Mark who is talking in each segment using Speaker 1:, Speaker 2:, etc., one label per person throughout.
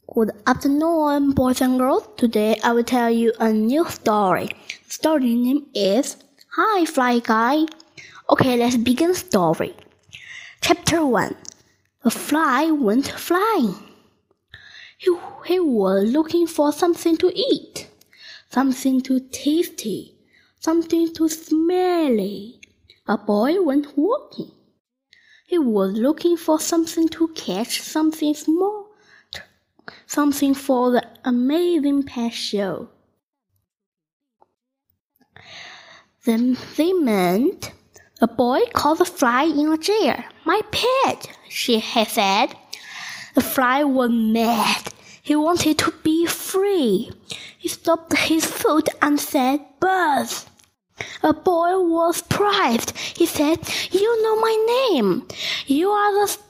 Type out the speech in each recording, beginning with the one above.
Speaker 1: Good afternoon, boys and girls. Today I will tell you a new story. The story name is Hi, Fly Guy. Okay, let's begin the story. Chapter 1. A fly went flying. He was looking for something to eat, something too tasty, something too smelly. A boy went walking. He was looking for something to catch, something small, something for the amazing pet show. Then they met. A boy caught the fly in a jar. My pet, she had said. The fly was mad. He wanted to be free. He stopped his foot and said, Buzz. A boy was surprised. He said, You know my name. You are the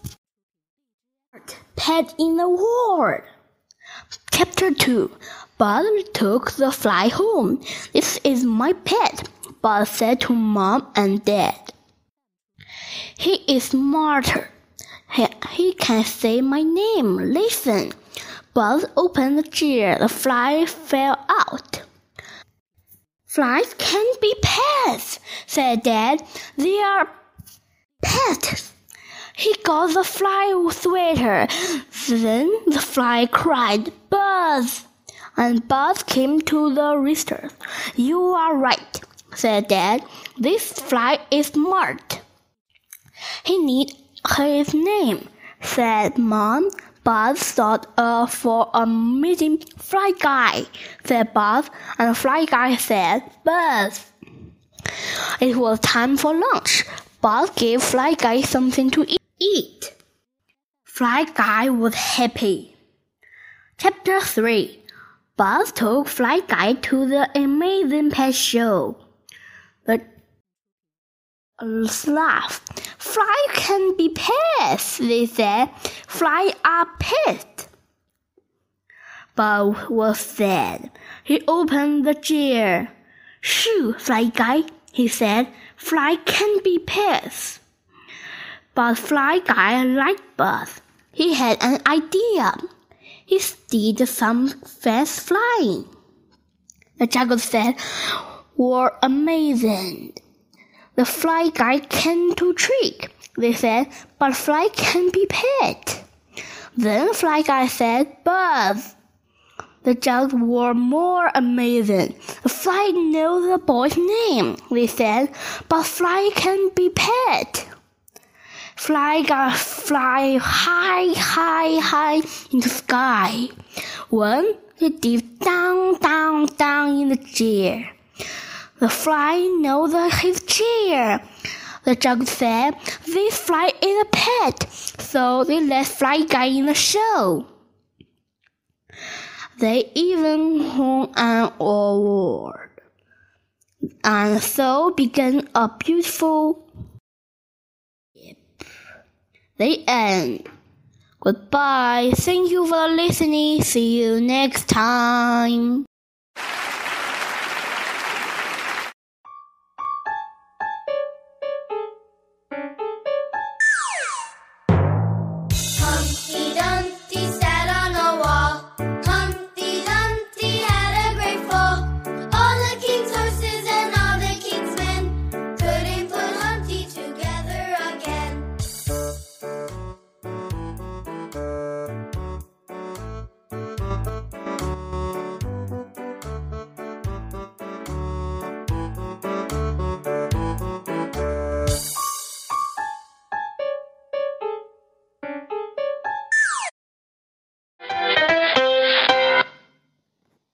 Speaker 1: pet in the world. Chapter 2. Buzz took the fly home. This is my pet, Buzz said to Mom and Dad. He is smarter. He can say my name. Listen. Buzz opened the jar. The fly fell out. Flies can't be pets, said Dad. They are pets. He got the fly sweater. Then the fly cried, Buzz! And Buzz came to the rooster. You are right, said Dad. This fly is smart. He needs his name, said Mom. Buzz thought for a meeting. Fly Guy, said Buzz, and the Fly Guy said, Buzz. It was time for lunch. Buzz gave Fly Guy something to eat. Fly Guy was happy. Chapter 3. Buzz took Fly Guy to the amazing pet show. The laughed. Fly can be pets, they said. Fly are pets. Buzz was sad. He opened the jar. Shoo, Fly Guy, he said. Fly can be pets. But Fly Guy liked Buzz. He had an idea. He did some fast flying. The Jackals said, were amazing. The Fly Guy can do trick, they said, but Fly can be pet. Then Fly Guy said, Buzz. The Jackals were more amazing. The Fly knows the boy's name, they said, but Fly can be pet. Fly Guy fly high in the sky. When he dipped down in the jar. The fly knows his chair. The Jackals said, this fly is a pet, so they let Fly Guy in the show. They even won an award. And so began a beautiful The end. Goodbye. Thank you for listening. See you next time.